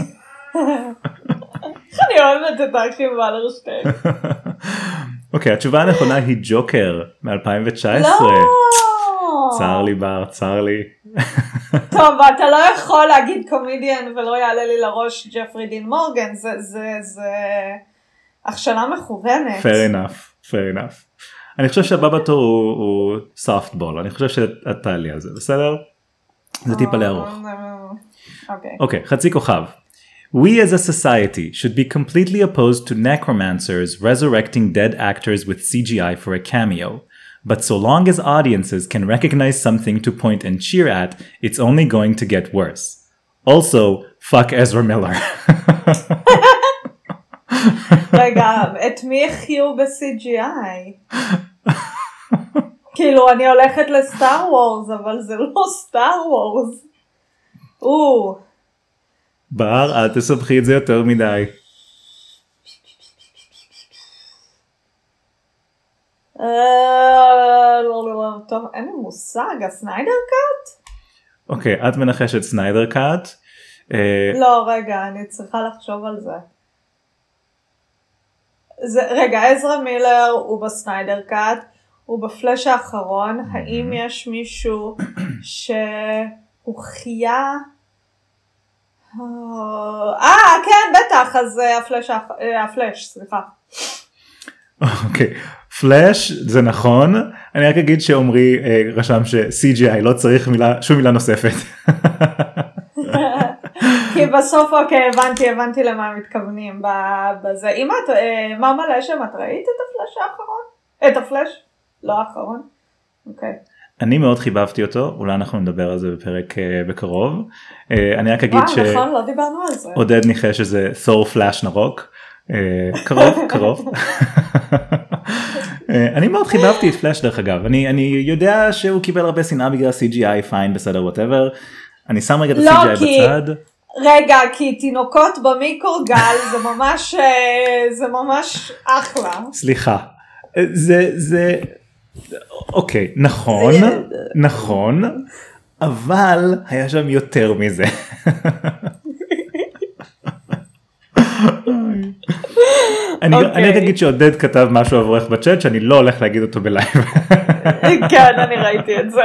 אני אוהבת את האחים וולרשטיין. אוקיי, התשובה הנכונה היא ג'וקר מ-אלפיים תשע עשרה. לא! צר לי בר, צר לי. טוב, אתה לא יכול להגיד קומדיאן ולא יעלה לי לראש ג'פרי דין מורגן, זה, זה, זה הכשלה מכוונת. Fair enough, fair enough. אני חושב שהבא בתור הוא, הוא softball, אני חושב שאת תעלי על זה, בסדר? זה טיפה לארוך. אוקיי. אוקיי, חצי כוכב. We as a society should be completely opposed to necromancers resurrecting dead actors with C G I for a cameo. But so long as audiences can recognize something to point and cheer at, it's only going to get worse. Also, fuck Ezra Miller. רגע, את מי החיו ב-סי ג'י איי? כאילו, אני הולכת לסטאר וורס, אבל זה לא סטאר וורס. או. בר, אל תסבכי את זה יותר מדי. טוב, אין לי מושג, הסניידר קאט? אוקיי, את מנחשת סניידר קאט. לא, רגע, אני צריכה לחשוב על זה. רגע, עזרא מילר הוא בסניידר קאט, הוא בפלאש האחרון. האם יש מישהו שהוא חיה? אה, כן, בטח, אז הפלאש, סליחה. אוקיי, פלאש זה נכון, אני רק אגיד שעומרי רשם ש-סי ג'י איי לא צריך מילה, שום מילה נוספת. כי בסוף, אוקיי, הבנתי, הבנתי למה הם מתכוונים בזה. אם את, מה מלא שם, את ראית את הפלאש האחרון? את הפלאש? לא האחרון? אוקיי. אני מאוד חיבבתי אותו, אולי אנחנו נדבר על זה בפרק בקרוב. אני רק אגיד וואו, נכון, לא דיברנו על זה. עודד ניחש שזה תור פלאש נרוק. קרוב, קרוב. אני מאוד חיבבתי את פלאש דרך אגב, אני יודע שהוא קיבל הרבה שנאה בגלל סי ג'י איי, פיין, בסדר, whatever. אני שם רגע את ה-סי ג'י איי בצד. רגע, כי תינוקות במיקרוגל זה ממש, זה ממש אחלה. סליחה, זה, זה, אוקיי, נכון, נכון, אבל היה שם יותר מזה. אני רק אגיד שעודד כתב משהו עבורך בצ'אט שאני לא הולך להגיד אותו בלייב. כן, אני ראיתי את זה.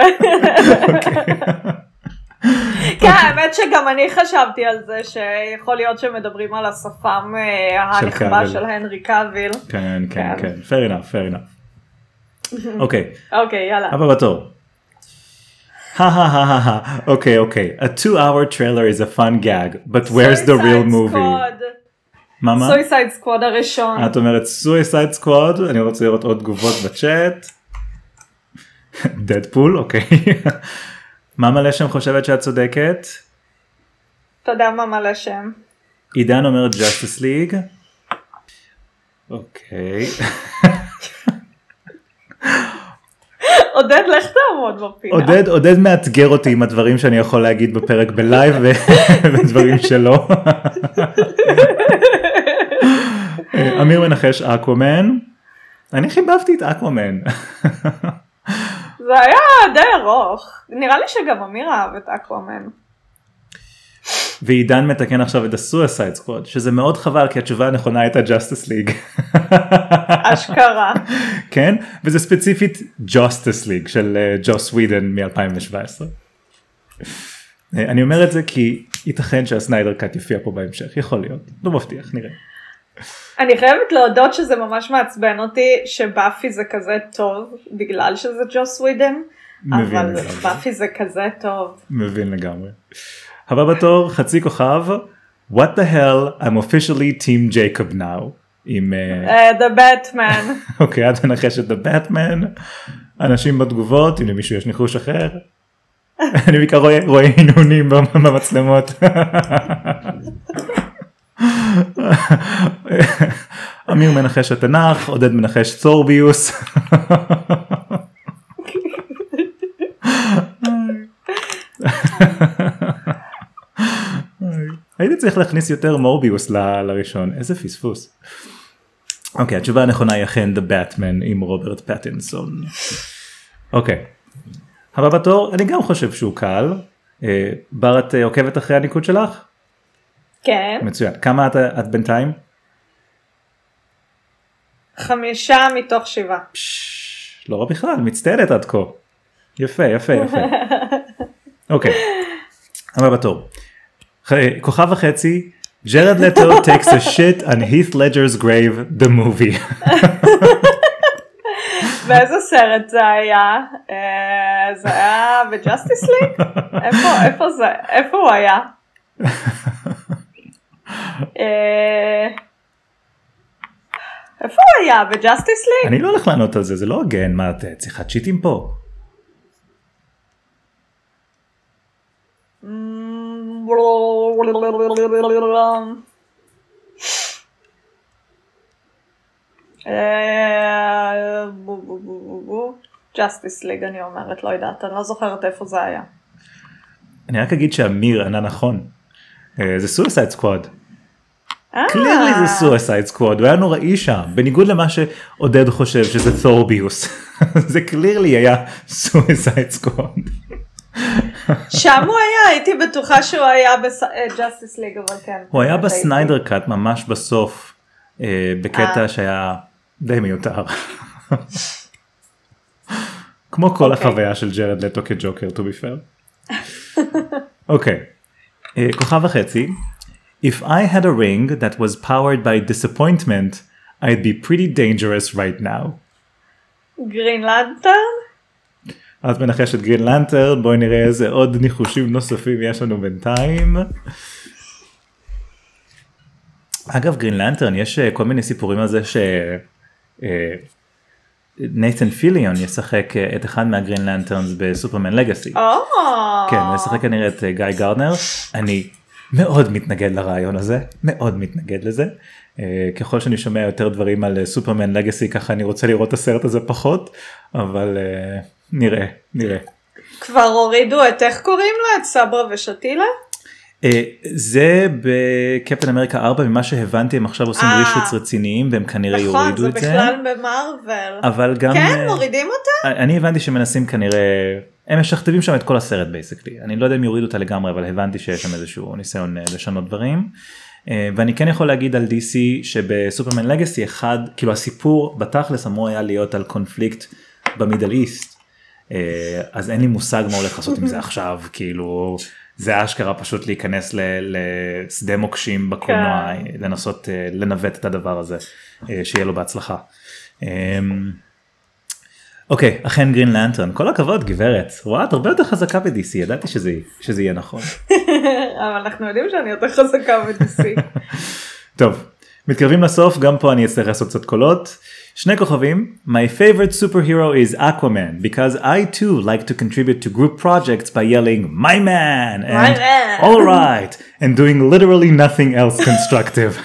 כן, האמת שגם אני חשבתי על זה שיכול להיות שמדברים על השפם הנחמה של הנרי קאביל. כן, כן, כן, fair enough, fair enough. אוקיי. אוקיי, יאללה. הבא בתור. Ha ha ha ha ha. Okay, okay. A two-hour trailer is a fun gag, but where's the real movie? מה מה? סויסייד סקוואד הראשון. את אומרת סויסייד סקוואד, אני רוצה לראות עוד תגובות בצ'אט. דדפול, אוקיי. מה מלא שם חושבת שאת צודקת? אתה יודע מה מלא שם. עידן אומרת Justice League. אוקיי. עודד, לך תעמוד בפינה. עודד, עודד מאתגר אותי עם הדברים שאני יכול להגיד בפרק בלייב ודברים שלא. אמיר מנחש אקוואמן. אני חיבבתי את אקוואמן. זה היה די ארוך. נראה לי שגם אמיר אהב את אקוואמן. ועידן מתקן עכשיו את ה-Suicide Squad, שזה מאוד חבל, כי התשובה הנכונה הייתה Justice League. אשכרה. כן? וזה ספציפית Justice League של ג'וס ווידן מ-אלפיים שבע עשרה. אני אומר את זה כי ייתכן שהסניידר קאט יופיע פה בהמשך, יכול להיות, לא מבטיח, נראה. אני חייבת להודות שזה ממש מעצבן אותי שבאפי זה כזה טוב, בגלל שזה ג'וס ווידן, אבל באפי זה כזה טוב. מבין לגמרי. הבא בתור, חצי כוכב, What the hell, I'm officially Team Jacob now. עם... The Batman. אוקיי, את מנחשת The Batman. אנשים בתגובות, אם למישהו יש ניחוש אחר. אני בעיקר רואה עינונים במצלמות. אמיר מנחש התנ"ך, עודד מנחש תורביוס. הייתי צריך להכניס יותר מורביוס לראשון, איזה פספוס. אוקיי, התשובה הנכונה היא אכן The Batman עם רוברט פטינסון. אוקיי, הבא בתור, אני גם חושב שהוא קל. בר, את עוקבת אחרי הניקוד שלך? כן. מצוין, כמה את, את בינתיים? חמישה מתוך שבעה. פש, לא רע בכלל, מצטיינת עד כה. יפה, יפה, יפה. אוקיי, הבא בתור. כוכב וחצי, ג'רד לטו takes a shit on Heath Ledger's grave, the movie. באיזה סרט זה היה? זה היה בג'סטיס ליג? איפה זה? איפה הוא היה? איפה הוא היה? בג'סטיס ליג? אני לא הולך לענות על זה, זה לא הגן, מה את צריכה צ'יטים פה? ג'סטיס ליג אני אומרת, לא יודעת, אני לא זוכרת איפה זה היה. אני רק אגיד שאמיר ענה נכון, זה סויסייד סקוואד. קלירלי זה סויסייד סקוואד, הוא היה נוראי שם, בניגוד למה שעודד חושב שזה תורביוס, זה קלירלי היה סויסייד סקוואד. שם הוא היה, הייתי בטוחה שהוא היה בג'סטיס ליג, אבל כן. הוא היה בסניידר קאט ממש בסוף, בקטע שהיה די מיותר. כמו כל החוויה של ג'רד לטו כג'וקר, to be fair. אוקיי, כוכב וחצי. If I had a ring that was powered by disappointment, I'd be pretty dangerous right now. גרין לנטרן? את מנחשת גרין לנטרן, בואי נראה איזה עוד ניחושים נוספים יש לנו בינתיים. אגב, גרין לנטרן, יש כל מיני סיפורים על זה שנייתן פיליון ישחק את אחד מהגרין לנטרנס בסופרמן לגאסי. כן, הוא ישחק כנראה את גיא גארדנר. אני מאוד מתנגד לרעיון הזה, מאוד מתנגד לזה. ככל שאני שומע יותר דברים על סופרמן לגאסי, ככה אני רוצה לראות את הסרט הזה פחות, אבל נראה, נראה. כבר הורידו את איך קוראים לה? את סברה ושתילה? זה בקפטן אמריקה ארבע, ממה שהבנתי הם עכשיו עושים רישוץ רציניים והם כנראה יורידו את זה. נכון, זה בכלל במרוול. אבל גם... כן, מורידים אותה? אני הבנתי שמנסים כנראה, הם משכתבים שם את כל הסרט בייסקלי. אני לא יודע אם יורידו אותה לגמרי, אבל הבנתי שיש שם איזשהו ניסיון לשנות דברים. ואני כן יכול להגיד על די סי שבסופרמן לגאסי אחד, כאילו הסיפור בתכלס אמור היה להיות על קונפליקט במידל איסט. אז אין לי מושג מה הולך לעשות עם זה עכשיו, כאילו... זה אשכרה פשוט להיכנס לשדה מוקשים בקולנוע, לנסות לנווט את הדבר הזה, שיהיה לו בהצלחה. אוקיי, אכן גרין לנטרן, כל הכבוד גברת, רואה, את הרבה יותר חזקה ב-די סי, ידעתי שזה יהיה נכון. אבל אנחנו יודעים שאני יותר חזקה ב-די סי. טוב, מתקרבים לסוף, גם פה אני אצטרך לעשות קצת קולות. שני כוכבים, my favorite superhero is Aquaman, because I too like to contribute to group projects by yelling, my man, and my man. all right, and doing literally nothing else constructive.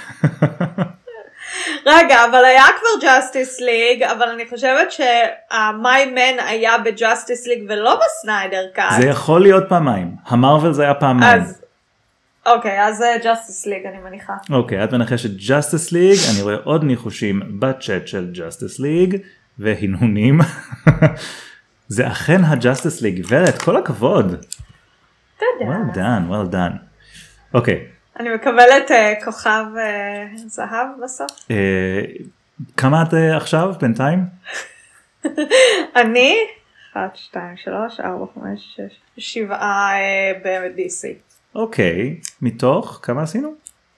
רגע, אבל היה כבר Justice League, אבל אני חושבת שה-my man היה ב-Justice League ולא בסניידר קאט. זה יכול להיות פעמיים, המרוול זה היה פעמיים. אז, אוקיי, אז זה Justice League אני מניחה. אוקיי, את מנחשת Justice League, אני רואה עוד ניחושים בצ'אט של Justice League, והנהונים. זה אכן ה-Justice League, גברת, כל הכבוד. תודה. well done, well done. אוקיי. אני מקבלת uh, כוכב uh, זהב בסוף. Uh, כמה את uh, עכשיו בינתיים? אני, אחת, שתיים, שלוש, ארבע, חמש, שש, שבעה uh, ב-די סי. אוקיי, מתוך, כמה עשינו?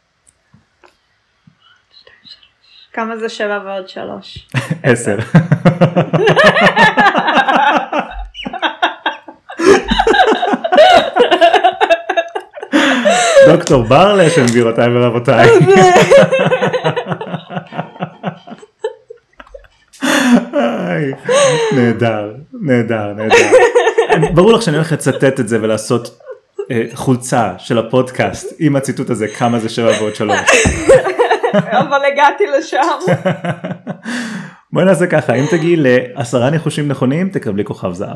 כמה זה שבע ועוד שלוש? עשר. דוקטור ברלשן, גבירותיי ורבותיי. נהדר, נהדר, נהדר. ברור לך שאני הולך לצטט את זה ולעשות חולצה של הפודקאסט עם הציטוט הזה, כמה זה שבע ועוד שלוש. אבל הגעתי לשם. בואי נעשה ככה, אם תגיעי לעשרה ניחושים נכונים, תקבלי כוכב זהב.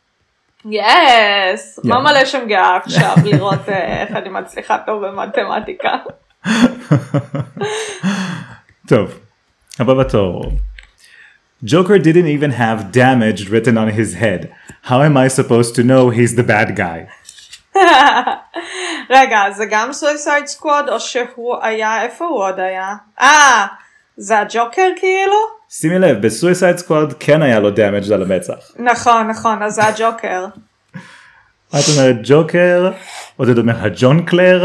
יס, מה מלא שם גאה עכשיו לראות איך אני מצליחה טוב במתמטיקה. טוב, הבא בתור. Joker didn't even have damage written on his head. How am I supposed to know he's the bad guy? רגע, זה גם סויסייד סקוואד או שהוא היה, איפה הוא עוד היה? אה, זה הג'וקר כאילו? שימי לב, בסויסייד סקוואד כן היה לו דאמג' על המצח. נכון, נכון, אז זה הג'וקר. את אומרת ג'וקר, עוד אומר הג'ון קלר.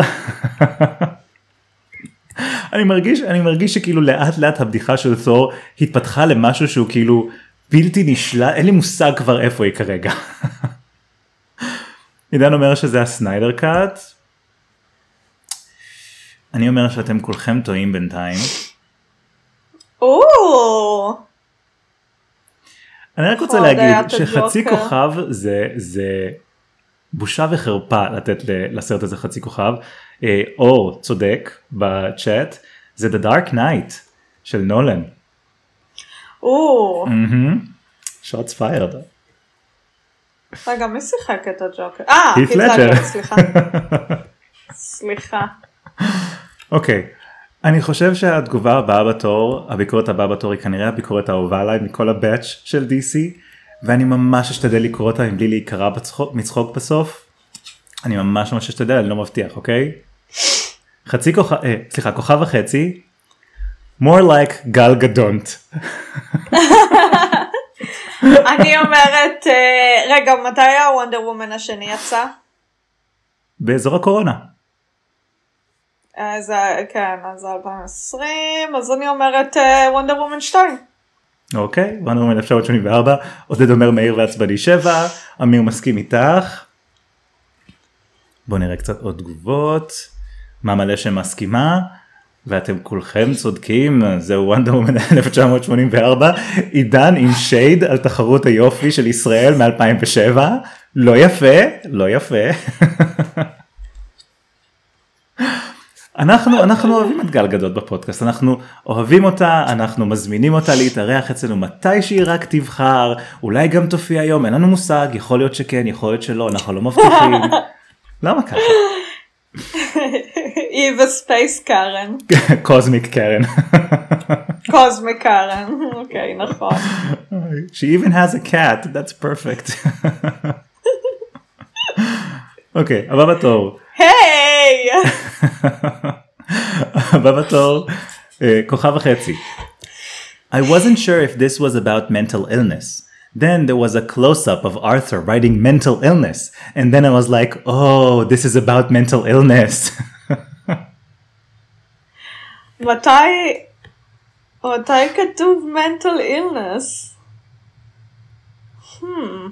אני מרגיש, אני מרגיש שכאילו לאט לאט הבדיחה של תור התפתחה למשהו שהוא כאילו בלתי נשלט, אין לי מושג כבר איפה היא כרגע. עידן אומר שזה הסניידר קאט. אני אומר שאתם כולכם טועים בינתיים. או. אני רק רוצה להגיד שחצי כוכב זה, זה בושה וחרפה לתת לסרט הזה חצי כוכב. אור צודק בצ'אט, זה The Dark Knight של נולן. או. Shots fired. רגע, מי שיחק את הג'וקר? אה, הית' לג'ר. סליחה. סליחה. אוקיי, אני חושב שהתגובה הבאה בתור, הביקורת הבאה בתור היא כנראה הביקורת האהובה עליי מכל הבאץ' של די סי, ואני ממש אשתדל לקרוא אותה מבלי להיקרא מצחוק בסוף. אני ממש ממש אשתדל, אני לא מבטיח, אוקיי? חצי כוכב, אה, סליחה, כוכב וחצי, more like גל גדונט. אני אומרת, רגע, מתי היה וונדר וומן השני יצא? באזור הקורונה. אז כן, אז אלפיים ועשרים, אז אני אומרת וונדר וומן שתיים. אוקיי, וונדר וומן אלף תשע מאות שמונים וארבע, עודד אומר מהיר ועצבני שבע, אמיר מסכים איתך. בואו נראה קצת עוד תגובות. מה מלא שמסכימה? ואתם כולכם צודקים, זהו וונדר וומן אלף תשע מאות שמונים וארבע, עידן עם שייד על תחרות היופי של ישראל מ-אלפיים ושבע, לא יפה, לא יפה. אנחנו, אנחנו אוהבים את גל גדות בפודקאסט, אנחנו אוהבים אותה, אנחנו מזמינים אותה להתארח אצלנו מתי שהיא רק תבחר, אולי גם תופיע היום, אין לנו מושג, יכול להיות שכן, יכול להיות שלא, אנחנו לא מבטיחים. למה ככה? Eva Space קארן. קוזמיק קארן. קוזמיק קארן, אוקיי, נכון. She even has a cat, that's perfect. אוקיי, הבא בתור. היי! הבא בתור, כוכב וחצי. I wasn't sure if this was about mental illness. Then there was a close-up of Arthur writing mental illness. And then I was like, oh, this is about mental illness. מתי, מתי כתוב mental illness? Hmm.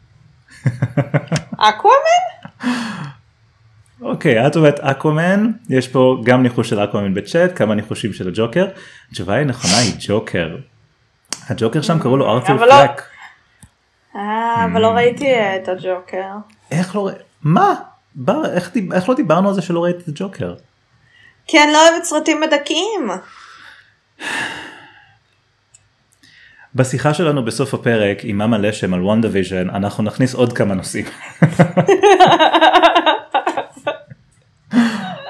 אקוואמן? אוקיי, את אומרת אקוואמן, יש פה גם ניחוש של אקוואמן בצ'אט, כמה ניחושים של הג'וקר. התשובה היא נכונה, היא ג'וקר. הג'וקר שם קראו לו ארת'ר פלק. אה, אבל לא ראיתי את הג'וקר. איך לא ראיתי? מה? איך לא דיברנו על זה שלא ראיתי את הג'וקר? כי אני לא אוהבת סרטים מדכאים. בשיחה שלנו בסוף הפרק עם מאמה לשם על וונדה ויז'ן, אנחנו נכניס עוד כמה נושאים.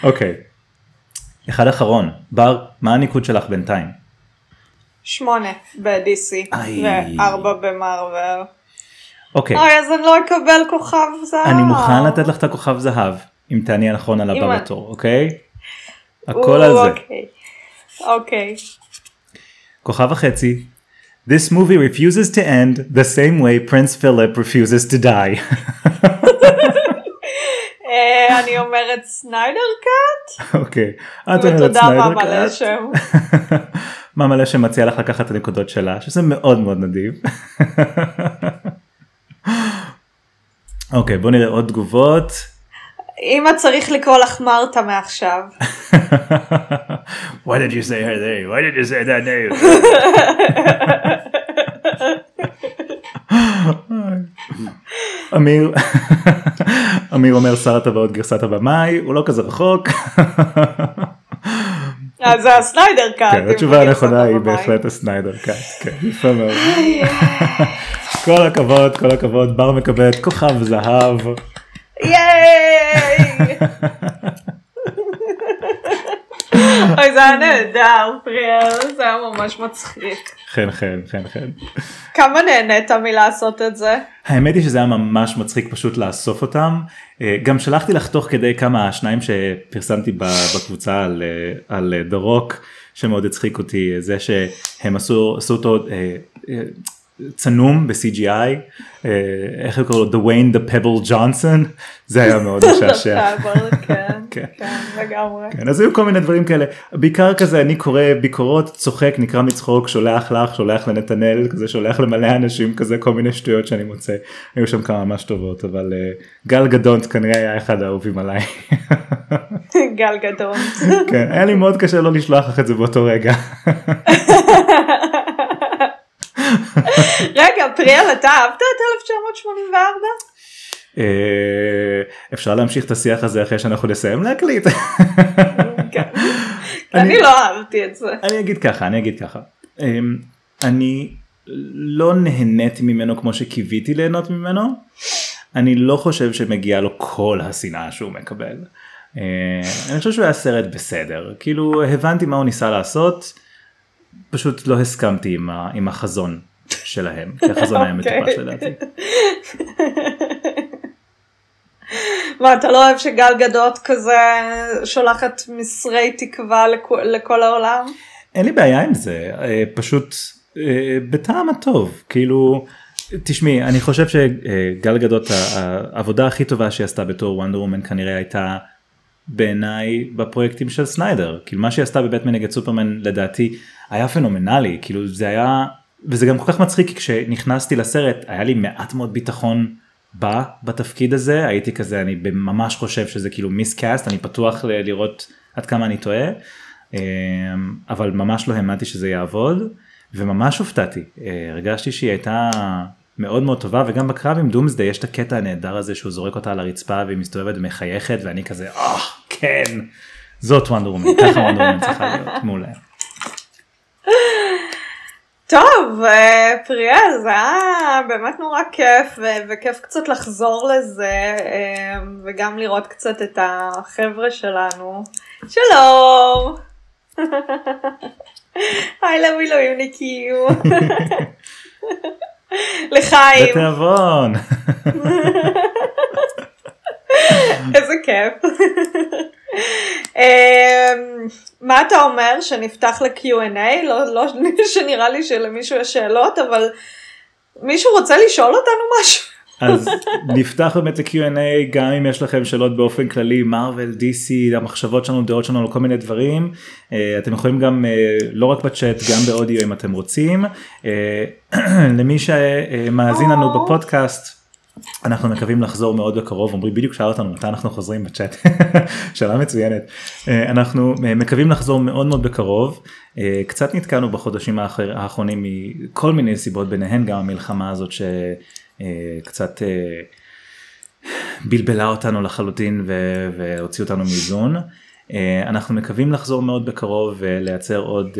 אוקיי. אחד אחרון. בר, מה הניקוד שלך בינתיים? שמונה ב-די סי וארבע במרוול. אוקיי. אוי, אז אני לא אקבל כוכב זהב. אני מוכן לתת לך את הכוכב זהב, אם תעני הנכון על הבא בתור, אוקיי? הכל על זה. אוקיי. אוקיי. כוכב החצי. This movie refuses to end the same way Prince Philip refuses to die. אני אומרת סניידר קאט. אוקיי. את אומרת ותודה סניידר מאמה קאט. לשם. מאמה לשם מציע לך לקחת את הנקודות שלה, שזה מאוד מאוד נדיב. אוקיי, בוא נראה עוד תגובות. אמא צריך לקרוא לך מרתה מעכשיו. Why did you say her name? Why did you say that name? אמיר, אמיר אומר שר הטבעות גרסת הבמאי, הוא לא כזה רחוק. אז זה הסניידר קאט. כן, התשובה הנכונה היא בהחלט הסניידר קאט. כן, יפה מאוד. כל הכבוד, כל הכבוד, בר מקבלת כוכב זהב. ייי! אוי, זה היה נהדר, פריאל, זה היה ממש מצחיק. כן, כן, כן, כן. כמה נהנית מלעשות את זה? האמת היא שזה היה ממש מצחיק פשוט לאסוף אותם. גם שלחתי לך תוך כדי כמה שניים שפרסמתי בקבוצה על, על The Rock, שמאוד הצחיק אותי, זה שהם עשו, עשו אותו צנום ב-סי ג'י איי, איך קוראים לו? The Wayne the Pebble Johnson, זה היה מאוד משעשע. כן, כן, לגמרי. כן, אז היו כל מיני דברים כאלה, בעיקר כזה אני קורא ביקורות, צוחק, נקרא מצחוק, שולח לך, שולח לנתנאל, כזה שולח למלא אנשים, כזה כל מיני שטויות שאני מוצא, היו שם כמה ממש טובות, אבל גל גדונט כנראה היה אחד האהובים עליי. גל גדונט. כן, היה לי מאוד קשה לא לשלוח לך את זה באותו רגע. רגע, פריאל, אתה אהבת את אלף תשע מאות שמונים וארבע? אפשר להמשיך את השיח הזה אחרי שאנחנו נסיים להקליט. אני לא אהבתי את זה. אני אגיד ככה, אני אגיד ככה. אני לא נהניתי ממנו כמו שקיוויתי ליהנות ממנו. אני לא חושב שמגיע לו כל השנאה שהוא מקבל. אני חושב שהוא היה סרט בסדר. כאילו הבנתי מה הוא ניסה לעשות. פשוט לא הסכמתי עם, ה, עם החזון שלהם, כי החזון היה מטופש לדעתי. מה, אתה לא אוהב שגל גדות כזה שולחת מסרי תקווה לכ- לכל העולם? אין לי בעיה עם זה, פשוט בטעם הטוב, כאילו, תשמעי, אני חושב שגל גדות, העבודה הכי טובה שהיא עשתה בתור וונדר וומן כנראה הייתה בעיניי בפרויקטים של סניידר, כאילו מה שהיא עשתה בבטמן נגד סופרמן לדעתי היה פנומנלי, כאילו זה היה, וזה גם כל כך מצחיק, כי כשנכנסתי לסרט היה לי מעט מאוד ביטחון בה בתפקיד הזה, הייתי כזה, אני ממש חושב שזה כאילו מיסקאסט, אני פתוח ל- לראות עד כמה אני טועה, אבל ממש לא האמנתי שזה יעבוד, וממש הופתעתי, הרגשתי שהיא הייתה מאוד מאוד טובה, וגם בקרב עם דומסדי יש את הקטע הנהדר הזה שהוא זורק אותה על הרצפה והיא מסתובבת ומחייכת, ואני כזה, אה, כן, זאת וונדר וומן, ככה וונדר וומן צריכה להיות, מעולה. טוב, פריאל, זה היה באמת נורא כיף, וכיף קצת לחזור לזה, וגם לראות קצת את החבר'ה שלנו. שלום! היי למילואימניקים. לחיים. בתיאבון. איזה כיף. מה אתה אומר, שנפתח ל-קיו אנד איי? לא, לא שנראה לי שלמישהו יש שאלות, אבל מישהו רוצה לשאול אותנו משהו? אז נפתח באמת ל-קיו אנד איי, גם אם יש לכם שאלות באופן כללי, מרוול, די סי, המחשבות שלנו, דעות שלנו, על כל מיני דברים, אתם יכולים גם, לא רק בצ'אט, גם באודיו אם אתם רוצים. למי שמאזין לנו בפודקאסט, אנחנו מקווים לחזור מאוד בקרוב, אומרים בדיוק שאל אותנו מתי אנחנו חוזרים בצ'אט, שאלה מצוינת, אנחנו מקווים לחזור מאוד מאוד בקרוב, קצת נתקענו בחודשים האחרונים מכל מיני סיבות, ביניהן גם המלחמה הזאת שקצת בלבלה אותנו לחלוטין והוציא אותנו מאיזון, אנחנו מקווים לחזור מאוד בקרוב ולייצר עוד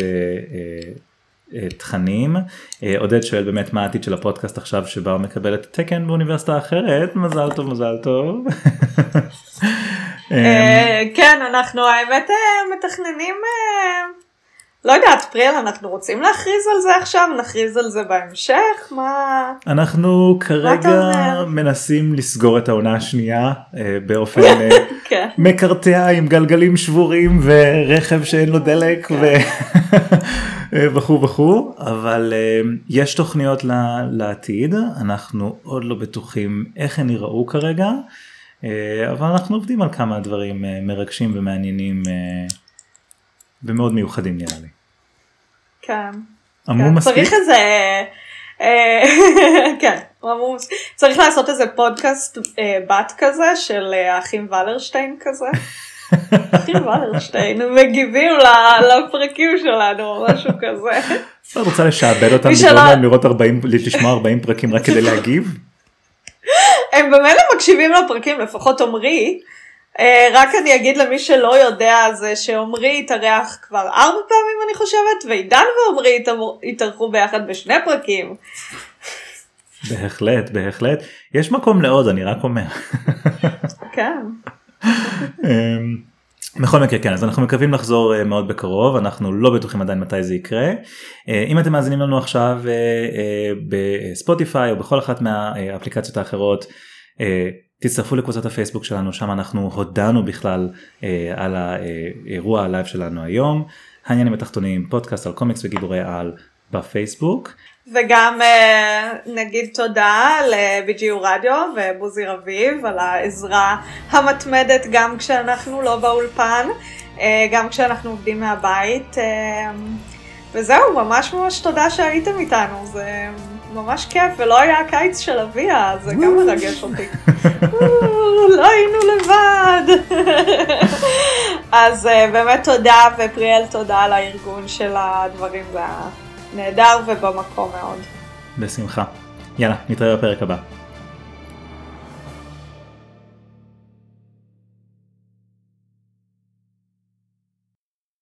תכנים. עודד שואל באמת מה העתיד של הפודקאסט עכשיו שבה הוא מקבל את תקן באוניברסיטה אחרת, מזל טוב מזל טוב. כן, אנחנו האמת מתכננים, לא יודעת, פריאל, אנחנו רוצים להכריז על זה עכשיו, נכריז על זה בהמשך, מה... אנחנו כרגע מנסים לסגור את העונה השנייה באופן מקרטע עם גלגלים שבורים ורכב שאין לו דלק וכו' וכו', אבל יש תוכניות לעתיד, אנחנו עוד לא בטוחים איך הן יראו כרגע, אבל אנחנו עובדים על כמה דברים מרגשים ומעניינים ומאוד מיוחדים נראה לי. כן. אמרו מספיק? צריך איזה, כן, עמוס. צריך לעשות איזה פודקאסט בת כזה של האחים ולרשטיין כזה. אחים ולרשטיין מגיבים לפרקים שלנו, משהו כזה. את רוצה לשעבד אותם, לגרום להם לראות ארבעים, לשמוע ארבעים פרקים רק כדי להגיב? הם באמת מקשיבים לפרקים, לפחות עומרי. רק אני אגיד למי שלא יודע, זה שעומרי התארח כבר ארבע פעמים אני חושבת, ועידן ועומרי התארחו ביחד בשני פרקים. בהחלט, בהחלט. יש מקום לעוד, אני רק אומר. כן. בכל מקרה כן, אז אנחנו מקווים לחזור מאוד בקרוב, אנחנו לא בטוחים עדיין מתי זה יקרה. אם אתם מאזינים לנו עכשיו בספוטיפיי או בכל אחת מהאפליקציות האחרות, תצטרפו לקבוצת הפייסבוק שלנו, שם אנחנו הודענו בכלל על האירוע הלייב שלנו היום, העניינים התחתונים, פודקאסט על קומיקס וגיבורי על בפייסבוק. וגם נגיד תודה ל-בי ג'י יו רדיו ובוזי רביב על העזרה המתמדת גם כשאנחנו לא באולפן, גם כשאנחנו עובדים מהבית, וזהו, ממש ממש תודה שהייתם איתנו, זה ממש כיף, ולא היה הקיץ של אביה, זה גם מרגש אותי. לא היינו לבד. אז באמת תודה, ופריאל תודה על הארגון של הדברים, זה נהדר ובמקום מאוד. בשמחה. יאללה, נתראה בפרק הבא.